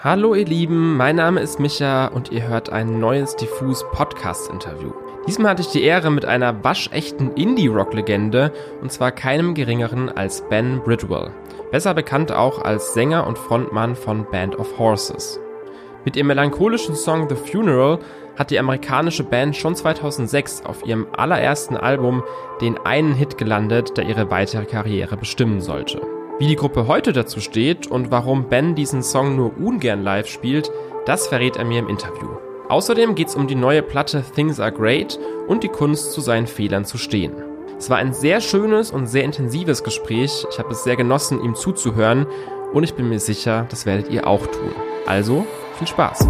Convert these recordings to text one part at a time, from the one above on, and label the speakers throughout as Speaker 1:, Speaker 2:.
Speaker 1: Hallo ihr Lieben, mein Name ist Micha und ihr hört ein neues Diffus Podcast-Interview. Diesmal hatte ich die Ehre mit einer waschechten Indie-Rock-Legende und zwar keinem geringeren als Ben Bridwell, besser bekannt auch als Sänger und Frontmann von Band of Horses. Mit ihrem melancholischen Song The Funeral hat die amerikanische Band schon 2006 auf ihrem allerersten Album den einen Hit gelandet, der ihre weitere Karriere bestimmen sollte. Wie die Gruppe heute dazu steht und warum Ben diesen Song nur ungern live spielt, das verrät er mir im Interview. Außerdem geht's um die neue Platte Things Are Great und die Kunst, zu seinen Fehlern zu stehen. Es war ein sehr schönes und sehr intensives Gespräch. Ich habe es sehr genossen, ihm zuzuhören und ich bin mir sicher, das werdet ihr auch tun. Also, viel Spaß!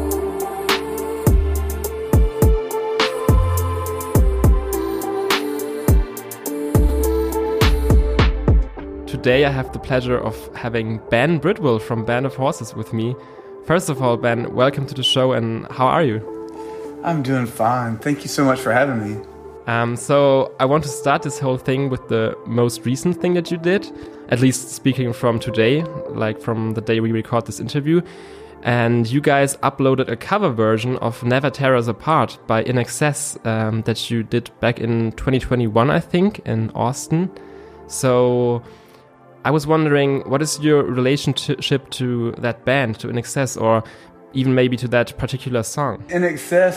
Speaker 1: Today I have the pleasure of having Ben Bridwell from Band of Horses with me. First of all, Ben, welcome to the show, and how are you?
Speaker 2: I'm doing fine. Thank you so much for having me.
Speaker 1: So I want to start this whole thing with the most recent thing that you did, at least speaking from today, like from the day we record this interview. And you guys uploaded a cover version of Never Tear Us Apart by INXS that you did back in 2021, I think, in Austin. So I was wondering, what is your relationship to that band, to INXS, or even maybe to that particular song?
Speaker 2: INXS,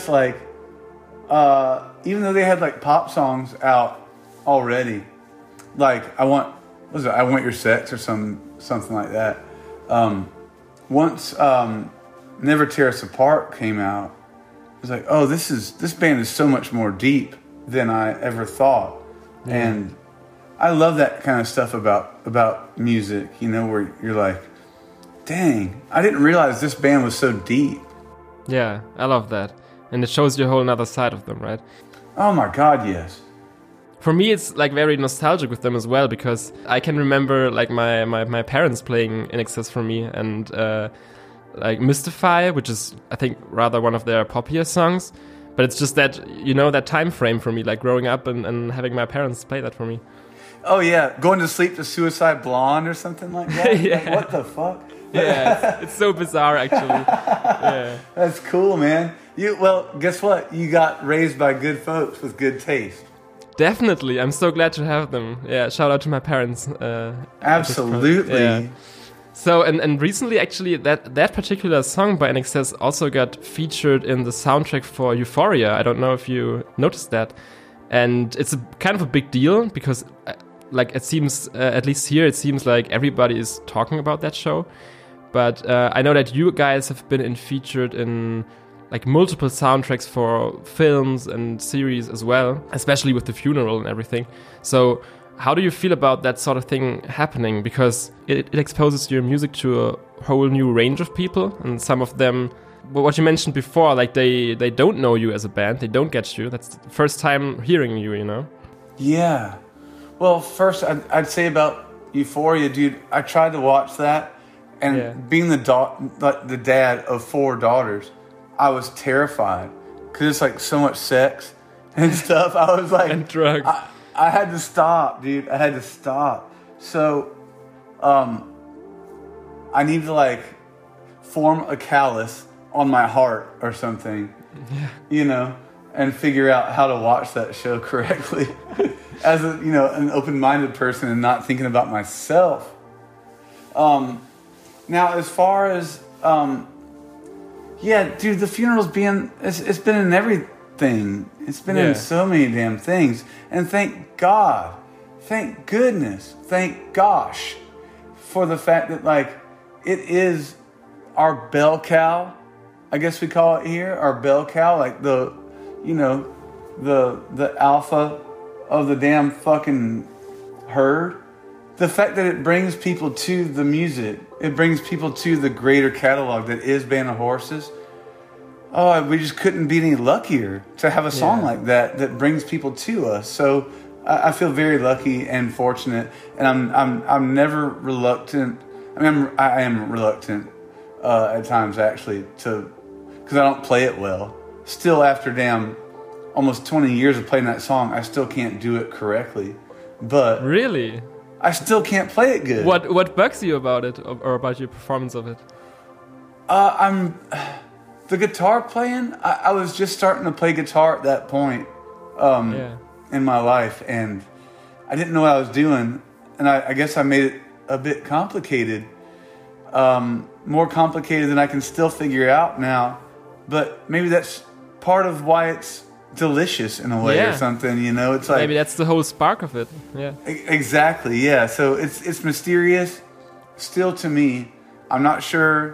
Speaker 2: even though they had pop songs out already, I Want Your Sex or something like that. Once Never Tear Us Apart came out, I was like, oh, this band is so much more deep than I ever thought, and I love that kind of stuff about music, where you're like, dang, I didn't realize this band was so deep.
Speaker 1: Yeah, I love that. And it shows you a whole other side of them, right?
Speaker 2: Oh my God, yes.
Speaker 1: For me, it's very nostalgic with them as well, because I can remember my parents playing INXS for me, and Mystify, which is I think rather one of their poppier songs. But it's just that, that time frame for me, growing up and having my parents play that for me.
Speaker 2: Oh yeah, going to sleep to Suicide Blonde or something like that.
Speaker 1: Yeah.
Speaker 2: What the fuck?
Speaker 1: Yeah, it's so bizarre actually. Yeah,
Speaker 2: that's cool, man. Guess what? You got raised by good folks with good taste.
Speaker 1: Definitely, I'm so glad to have them. Yeah, shout out to my parents.
Speaker 2: Absolutely.
Speaker 1: Yeah. So and recently, actually, that particular song by INXS also got featured in the soundtrack for Euphoria. I don't know if you noticed that, and it's kind of a big deal because. It seems, at least here, it seems like everybody is talking about that show. But I know that you guys have been featured in multiple soundtracks for films and series as well, especially with The Funeral and everything. So how do you feel about that sort of thing happening? Because it exposes your music to a whole new range of people, and some of them, what you mentioned before, they don't know you as a band, they don't get you. That's the first time hearing you,
Speaker 2: Yeah. Well, first, I'd say about Euphoria, dude. I tried to watch that, and being the dad of 4 daughters, I was terrified because it's so much sex and stuff. I was like,
Speaker 1: and drugs.
Speaker 2: I had to stop, dude. I had to stop. So, I need to form a callus on my heart or something, and figure out how to watch that show correctly. As an open-minded person and not thinking about myself. Now, as far as dude, The Funeral's it's been in everything. It's been in so many damn things. And thank God, thank goodness, thank gosh, for the fact that it is our bell cow. I guess we call it here our bell cow, the alpha of the damn fucking herd. The fact that it brings people to the music, it brings people to the greater catalog that is Band of Horses. Oh, we just couldn't be any luckier to have a song like that brings people to us. So I feel very lucky and fortunate, and I'm never reluctant. I am reluctant at times actually because I don't play it well. Still, after almost 20 years of playing that song, I still can't do it correctly. But
Speaker 1: really,
Speaker 2: I still can't play it good.
Speaker 1: What bugs you about it, or about your performance of it?
Speaker 2: I'm the guitar playing. I was just starting to play guitar at that point in my life, and I didn't know what I was doing, and I guess I made it a bit complicated, more complicated than I can still figure out now. But maybe that's part of why it's delicious in a way or something. You know, it's like
Speaker 1: maybe that's the whole spark of it. Yeah,
Speaker 2: exactly. Yeah, so it's mysterious still to me. I'm not sure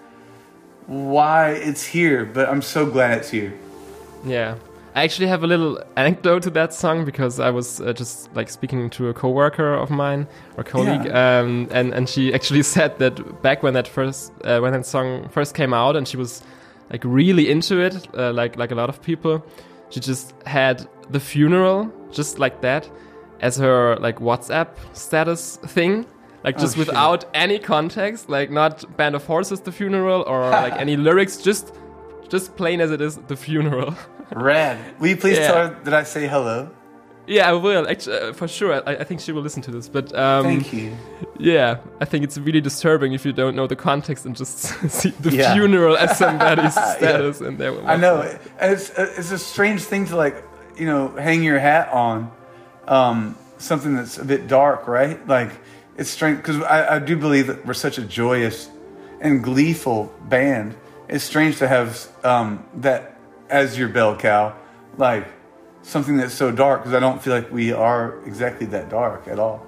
Speaker 2: why it's here, but I'm so glad it's here.
Speaker 1: Yeah. I actually have a little anecdote to that song because I was just like speaking to a coworker of mine or colleague, and she actually said that back when that song first came out, and she was like really into it, like a lot of people, she just had The Funeral just like that as her like WhatsApp status thing. Like just without any context, like not Band of Horses, The Funeral, or like any lyrics, just plain as it is, The Funeral.
Speaker 2: Rad. Will you please tell her that I say hello?
Speaker 1: Yeah, I will. Actually, for sure. I think she will listen to this. But
Speaker 2: thank you.
Speaker 1: Yeah, I think it's really disturbing if you don't know the context and just see The Funeral as somebody's status in there.
Speaker 2: I know. It's a strange thing to like, you know, hang your hat on something that's a bit dark, right? Like, it's strange because I do believe that we're such a joyous and gleeful band. It's strange to have that as your bell cow, like something that's so dark, because I don't feel like we are exactly that dark at all.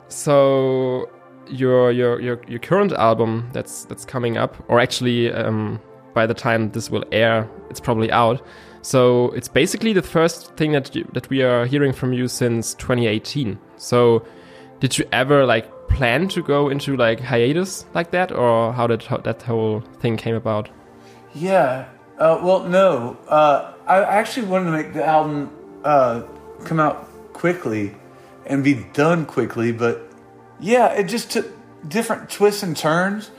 Speaker 1: So your current album that's coming up, or actually by the time this will air, it's probably out. So it's basically the first thing that we are hearing from you since 2018. So did you ever like plan to go into like hiatus like that, or how did that whole thing came about?
Speaker 2: Yeah. Well, no. I actually wanted to make the album come out quickly and be done quickly, but yeah, it just took different twists and turns,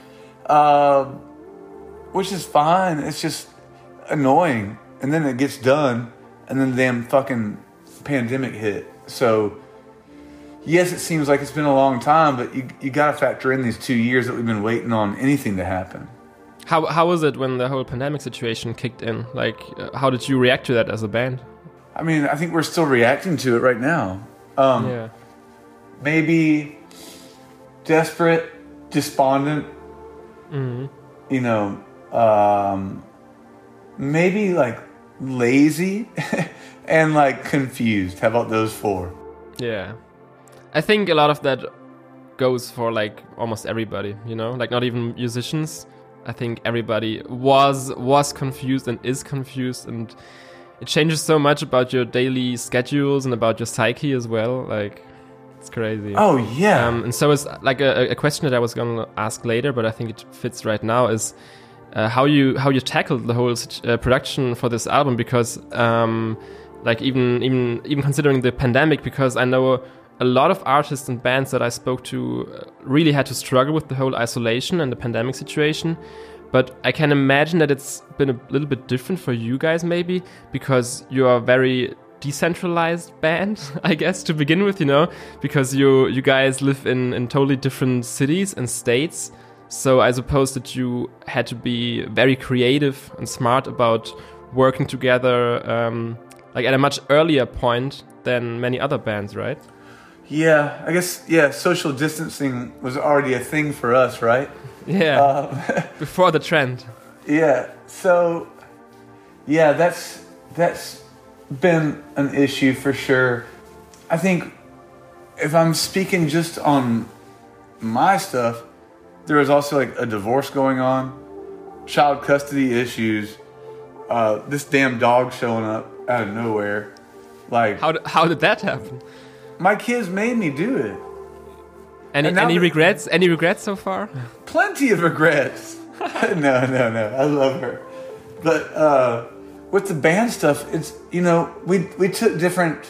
Speaker 2: which is fine. It's just annoying, and then it gets done, and then the damn fucking pandemic hit. So yes, it seems like it's been a long time, but you got to factor in these 2 years that we've been waiting on anything to happen.
Speaker 1: How was it when the whole pandemic situation kicked in? Like, how did you react to that as a band?
Speaker 2: I mean, I think we're still reacting to it right now. Maybe desperate, despondent, you know, maybe like lazy and like confused. How about those four?
Speaker 1: Yeah. I think a lot of that goes for like almost everybody, you know, like not even musicians. I think everybody was confused and is confused, and it changes so much about your daily schedules and about your psyche as well. Like, it's crazy.
Speaker 2: Oh yeah.
Speaker 1: And so it's like a question that I was gonna ask later, but I think it fits right now, is how you tackled the whole production for this album, because like even considering the pandemic, because I know a lot of artists and bands that I spoke to really had to struggle with the whole isolation and the pandemic situation. But I can imagine that it's been a little bit different for you guys, maybe, because you are a very decentralized band, I guess, to begin with, you know, because you guys live in totally different cities and states. So I suppose that you had to be very creative and smart about working together, like at a much earlier point than many other bands, right?
Speaker 2: Yeah, I guess, social distancing was already a thing for us, right?
Speaker 1: Yeah, before the trend.
Speaker 2: Yeah, so, yeah, that's been an issue for sure. I think if I'm speaking just on my stuff, there was also like a divorce going on, child custody issues, this damn dog showing up out of nowhere. Like,
Speaker 1: how did that happen?
Speaker 2: My kids made me do it.
Speaker 1: Any regrets? Any regrets so far?
Speaker 2: Plenty of regrets. No. I love her. But with the band stuff, it's, you know, we took different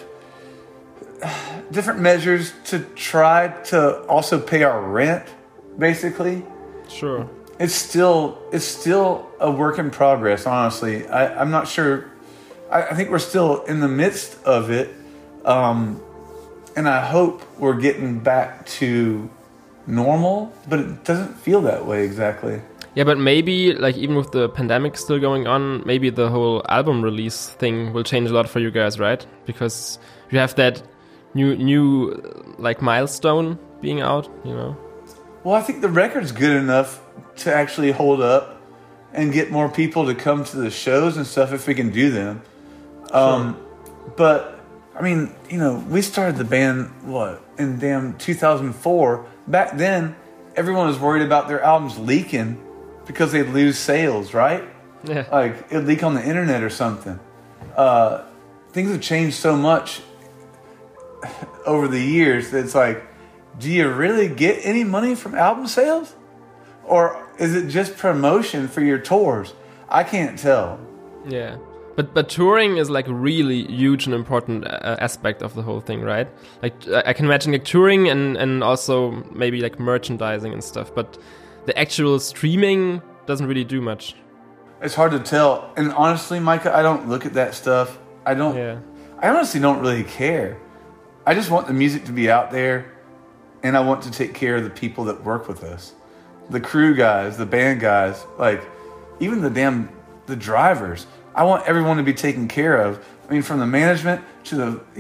Speaker 2: measures to try to also pay our rent, basically.
Speaker 1: Sure.
Speaker 2: It's still a work in progress, honestly. I'm not sure. I think we're still in the midst of it. And I hope we're getting back to normal, but it doesn't feel that way exactly.
Speaker 1: Yeah, but maybe, like, even with the pandemic still going on, maybe the whole album release thing will change a lot for you guys, right? Because you have that new like milestone being out, you know.
Speaker 2: Well, I think the record's good enough to actually hold up and get more people to come to the shows and stuff if we can do them.
Speaker 1: Sure.
Speaker 2: But I mean, you know, we started the band in damn 2004. Back then, everyone was worried about their albums leaking because they'd lose sales, right?
Speaker 1: Yeah.
Speaker 2: Like it'd leak on the internet or something. Things have changed so much over the years that it's like, do you really get any money from album sales? Or is it just promotion for your tours? I can't tell.
Speaker 1: Yeah. But touring is like a really huge and important aspect of the whole thing, right? Like I can imagine like touring and also maybe like merchandising and stuff, but the actual streaming doesn't really do much.
Speaker 2: It's hard to tell. And honestly, Micah, I don't look at that stuff. I honestly don't really care. I just want the music to be out there, and I want to take care of the people that work with us. The crew guys, the band guys, like even the drivers. I want everyone to be taken care of. I mean, from the management to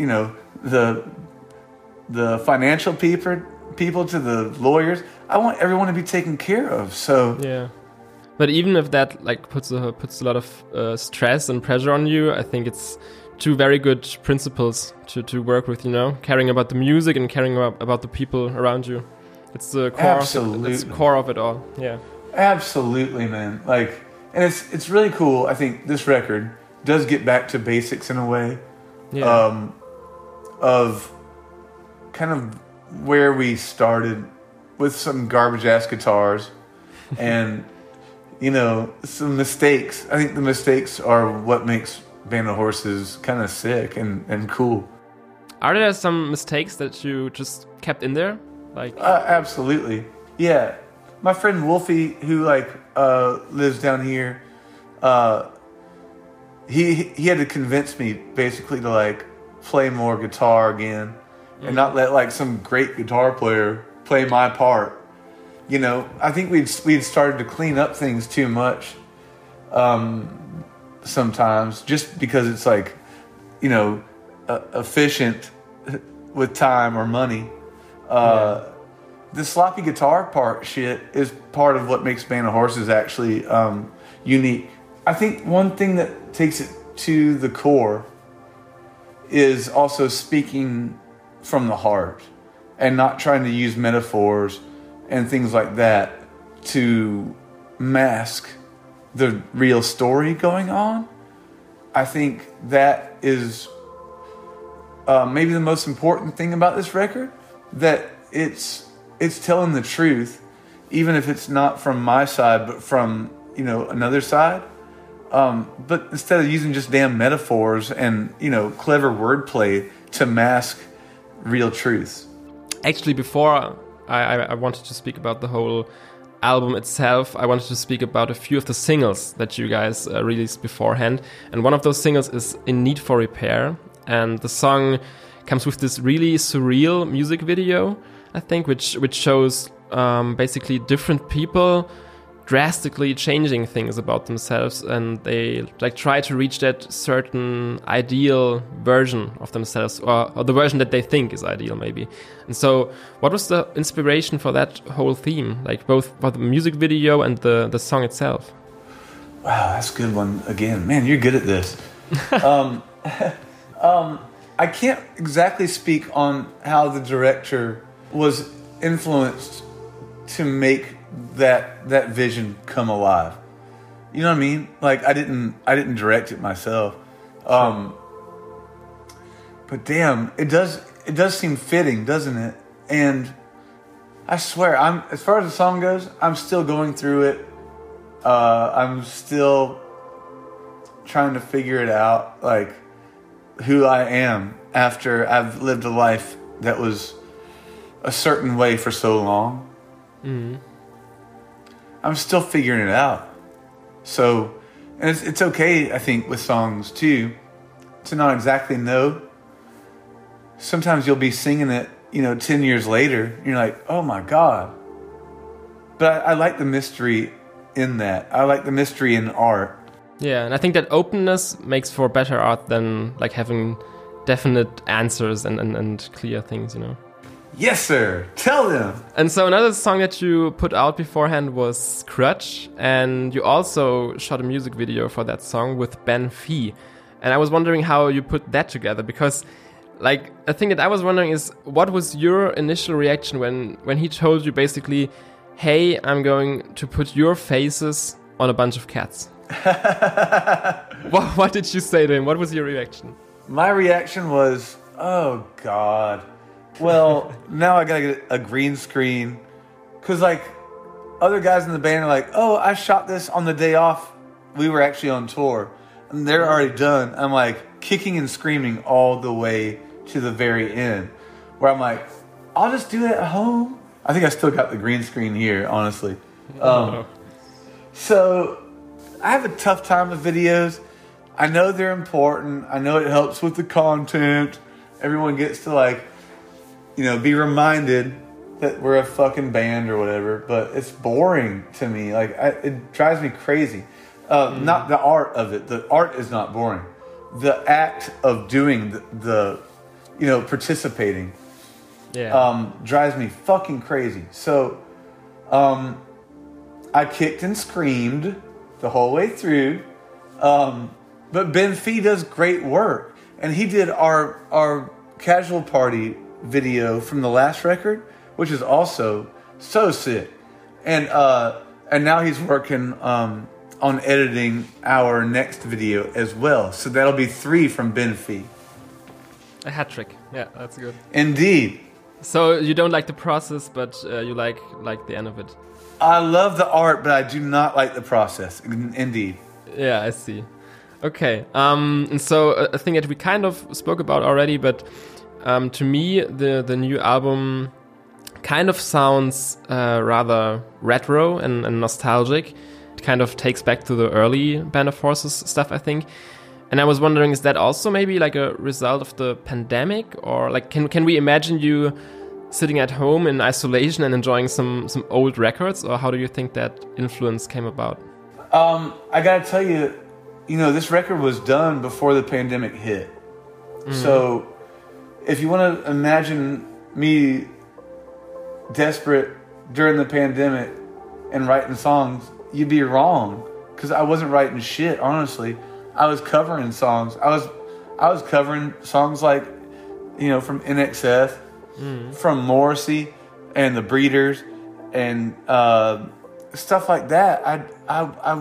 Speaker 2: the financial people to the lawyers. I want everyone to be taken care of. So
Speaker 1: yeah. But even if that like puts a lot of stress and pressure on you, I think it's two very good principles to work with. You know, caring about the music and caring about the people around you. It's the core.
Speaker 2: Absolutely.
Speaker 1: It's the core of it all. Yeah.
Speaker 2: Absolutely, man. Like. And it's really cool. I think this record does get back to basics in a way, of kind of where we started with some garbage ass guitars, and you know some mistakes. I think the mistakes are what makes Band of Horses kind of sick and cool.
Speaker 1: Are there some mistakes that you just kept in there? Like
Speaker 2: absolutely, yeah. My friend Wolfie, who lives down here, he had to convince me basically to like play more guitar again, and not let like some great guitar player play my part. You know, I think we'd started to clean up things too much, sometimes just because it's like, you know, efficient with time or money. The sloppy guitar part shit is part of what makes Band of Horses actually unique. I think one thing that takes it to the core is also speaking from the heart and not trying to use metaphors and things like that to mask the real story going on. I think that is maybe the most important thing about this record, that it's telling the truth, even if it's not from my side, but from, you know, another side. But instead of using just damn metaphors and, you know, clever wordplay to mask real truths.
Speaker 1: Actually, before I wanted to speak about the whole album itself, I wanted to speak about a few of the singles that you guys released beforehand. And one of those singles is In Need for Repair. And the song comes with this really surreal music video, I think, which shows basically different people drastically changing things about themselves, and they like try to reach that certain ideal version of themselves, or the version that they think is ideal, maybe. And so, what was the inspiration for that whole theme, like both for the music video and the song itself?
Speaker 2: Wow, that's a good one. Again, man, you're good at this. I can't exactly speak on how the director was influenced to make that vision come alive. You know what I mean? Like I didn't direct it myself. But damn, it does seem fitting, doesn't it? And I swear, as far as the song goes, I'm still going through it. I'm still trying to figure it out, like who I am after I've lived a life that was a certain way for so long. Mm-hmm. I'm still figuring it out. So, and it's okay, I think, with songs too, to not exactly know. Sometimes you'll be singing it, 10 years later, and you're like, oh my God. But I like the mystery in that. I like the mystery in art.
Speaker 1: Yeah, and I think that openness makes for better art than like having definite answers and clear things, you know.
Speaker 2: Yes, sir. Tell them.
Speaker 1: And so another song that you put out beforehand was Crutch, and you also shot a music video for that song with Ben Fee. And I was wondering how you put that together, because like a thing that I was wondering is, what was your initial reaction when he told you basically, hey, I'm going to put your faces on a bunch of cats? What did you say to him? What was your reaction?
Speaker 2: My reaction was, oh, God. Well, now I gotta get a green screen. Because, like, other guys in the band are like, oh, I shot this on the day off. We were actually on tour. And they're already done. I'm, like, kicking and screaming all the way to the very end. Where I'm like, I'll just do it at home. I think I still got the green screen here, honestly. So, I have a tough time with videos. I know they're important. I know it helps with the content. Everyone gets to, like, you know, be reminded that we're a fucking band or whatever, but it's boring to me. Like, it drives me crazy. Not the art of it. The art is not boring. The act of doing the you know, participating, drives me fucking crazy. So, I kicked and screamed the whole way through. But Ben Fee does great work, and he did our Casual Party video from the last record, which is also so sick. And now he's working on editing our next video as well. So that'll be 3 from Ben Fee.
Speaker 1: A hat trick. Yeah, that's good.
Speaker 2: Indeed.
Speaker 1: So you don't like the process, but you like the end of it.
Speaker 2: I love the art, but I do not like the process. Indeed.
Speaker 1: Yeah, I see. Okay. And so a thing that we kind of spoke about already, but to me, the new album kind of sounds rather retro and nostalgic. It kind of takes back to the early Band of Horses stuff, I think. And I was wondering, is that also maybe like a result of the pandemic? Or like, can we imagine you sitting at home in isolation and enjoying some old records? Or how do you think that influence came about?
Speaker 2: I gotta tell you, you know, this record was done before the pandemic hit. Mm-hmm. So if you want to imagine me desperate during the pandemic and writing songs, you'd be wrong, because I wasn't writing shit, honestly. I was covering songs. I was covering songs like, you know, from NXS, from Morrissey and the Breeders, and stuff like that. I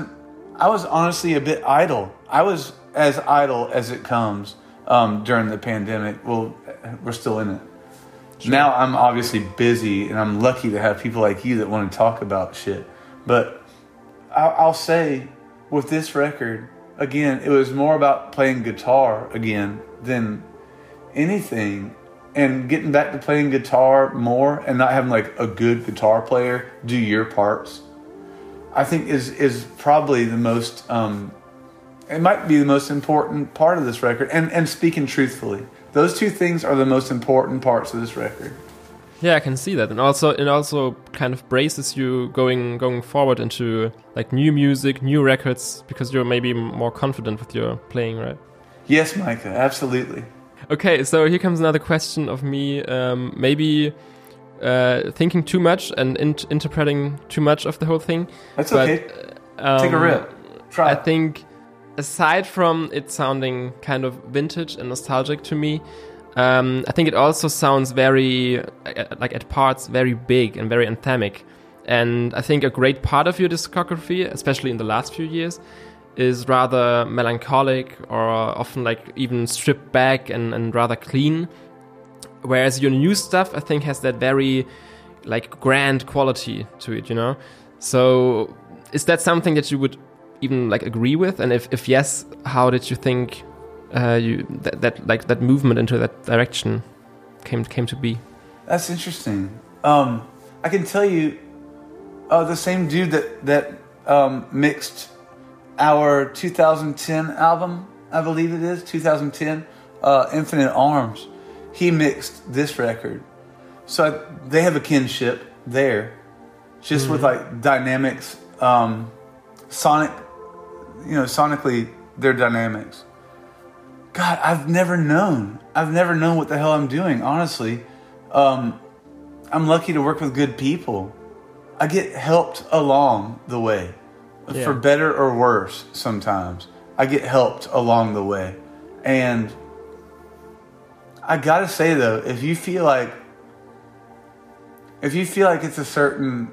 Speaker 2: was honestly a bit idle. I was as idle as it comes during the pandemic. Well, we're still in it. Sure. Now I'm obviously busy, and I'm lucky to have people like you that want to talk about shit. But I'll say, with this record, again, it was more about playing guitar again than anything, and getting back to playing guitar more and not having like a good guitar player do your parts. I think is probably the most. It might be the most important part of this record. And speaking truthfully, those two things are the most important parts of this record.
Speaker 1: Yeah, I can see that, and it also kind of braces you going forward into like new music, new records, because you're maybe more confident with your playing, right?
Speaker 2: Yes, Micah, absolutely.
Speaker 1: Okay, so here comes another question of me. Maybe thinking too much and interpreting too much of the whole thing.
Speaker 2: That's okay. Take a rip. Try.
Speaker 1: I think, aside from it sounding kind of vintage and nostalgic to me, I think it also sounds very, like at parts, very big and very anthemic. And I think a great part of your discography, especially in the last few years, is rather melancholic or often like even stripped back and rather clean. Whereas your new stuff, I think, has that very like grand quality to it, you know? So is that something that you would even like agree with? And if yes, how did you think that movement into that direction came to be? That's
Speaker 2: interesting. I can tell you, the same dude that mixed our 2010 album, I believe it is 2010, Infinite Arms. He mixed this record, so they have a kinship there, just with like dynamics sonically, their dynamics. God, I've never known what the hell I'm doing, honestly. I'm lucky to work with good people. I get helped along the way, for better or worse sometimes. I get helped along the way. And I gotta say though, if you feel like it's a certain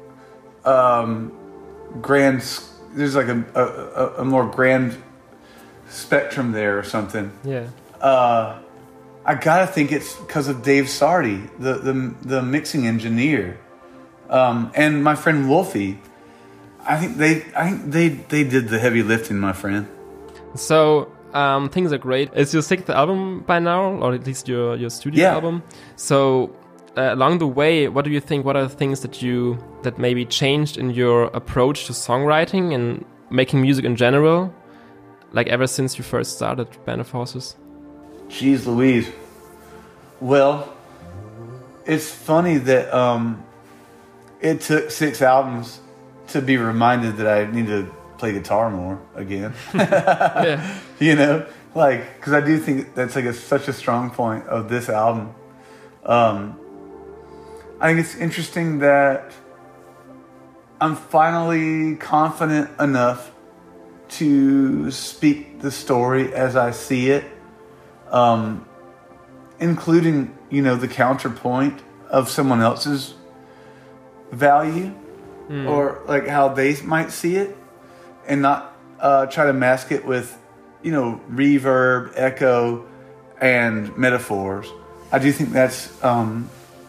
Speaker 2: grand, there's like a more grand spectrum there or something.
Speaker 1: Yeah.
Speaker 2: I gotta think it's because of Dave Sardi, the mixing engineer, and my friend Wolfie. I think they did the heavy lifting, my friend.
Speaker 1: So things are great. It's your 6th album by now, or at least your studio album. So along the way, what do you think? What are the things that maybe changed in your approach to songwriting and making music in general? Like ever since you first started Band of Horses?
Speaker 2: Jeez Louise. Well, it's funny that it took 6 albums to be reminded that I need to play guitar more again.
Speaker 1: Yeah.
Speaker 2: You know, like, because I do think that's like such a strong point of this album. I think it's interesting that I'm finally confident enough to speak the story as I see it, including, the counterpoint of someone else's value or like how they might see it, and not try to mask it with, reverb, echo, and metaphors. I do think that's, I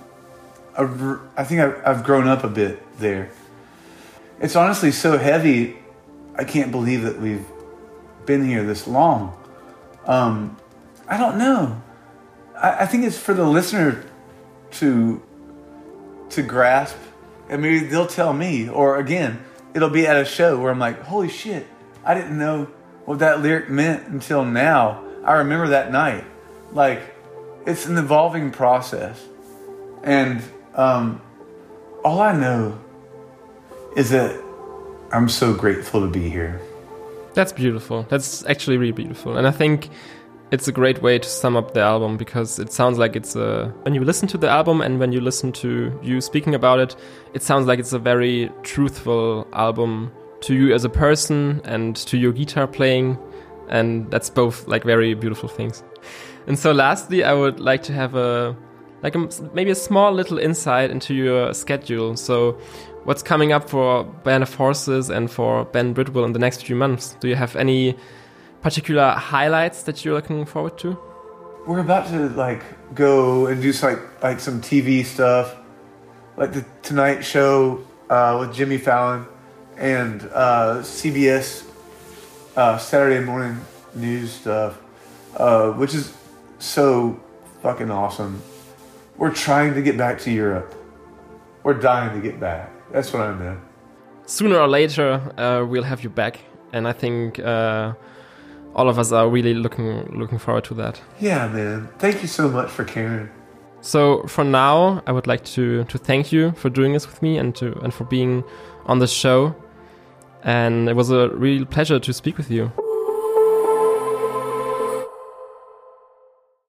Speaker 2: think I've grown up a bit there. It's honestly so heavy, I can't believe that we've been here this long. I don't know. I think it's for the listener to grasp, and maybe they'll tell me, or again, it'll be at a show where I'm like, holy shit, I didn't know what that lyric meant until now. I remember that night. Like, it's an evolving process. And all I know is that I'm so grateful to be here.
Speaker 1: That's beautiful. That's actually really beautiful. And I think it's a great way to sum up the album, because it sounds like it's when you listen to the album and when you listen to you speaking about it, it sounds like it's a very truthful album to you as a person and to your guitar playing. And that's both like very beautiful things. And so lastly, I would like to have maybe a small little insight into your schedule. So what's coming up for Band of Horses and for Ben Bridwell in the next few months? Do you have any particular highlights that you're looking forward to?
Speaker 2: We're about to go and do some TV stuff, like the Tonight Show with Jimmy Fallon and CBS Saturday morning news stuff, which is so fucking awesome. We're trying to get back to Europe. We're dying to get back. That's what I meant.
Speaker 1: Sooner or later, we'll have you back, and I think all of us are really looking forward to that.
Speaker 2: Yeah, man. Thank you so much for caring.
Speaker 1: So for now, I would like to thank you for doing this with me and for being on the show. And it was a real pleasure to speak with you.